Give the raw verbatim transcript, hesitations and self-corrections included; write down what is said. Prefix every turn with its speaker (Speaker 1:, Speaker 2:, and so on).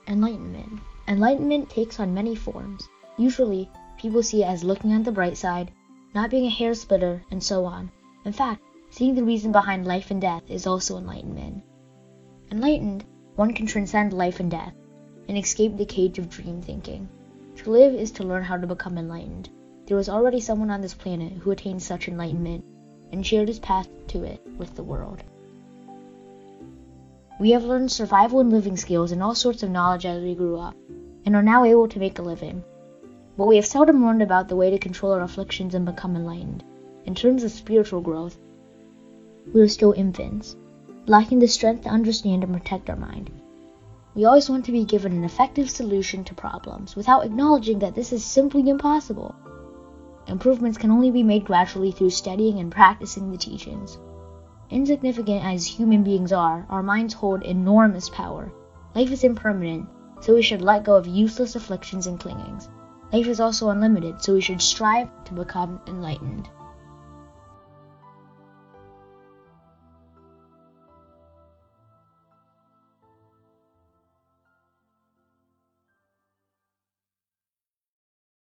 Speaker 1: Enlightenment. Enlightenment takes on many forms. Usually, people see it as looking on the bright side, not being a hair splitter, and so on. In fact, seeing the reason behind life and death is also enlightenment. Enlightened, one can transcend life and death, and escape the cage of dream thinking. To live is to learn how to become enlightened. There was already someone on this planet who attained such enlightenment, and shared his path to it with the world. We have learned survival and living skills and all sorts of knowledge as we grew up, and are now able to make a living. But we have seldom learned about the way to control our afflictions and become enlightened. In terms of spiritual growth, we are still infants, lacking the strength to understand and protect our mind. We always want to be given an effective solution to problems, without acknowledging that this is simply impossible. Improvements can only be made gradually through studying and practicing the teachings. Insignificant as human beings are, our minds hold enormous power. Life is impermanent, so we should let go of useless afflictions and clingings. Life is also unlimited, so we should strive to become enlightened.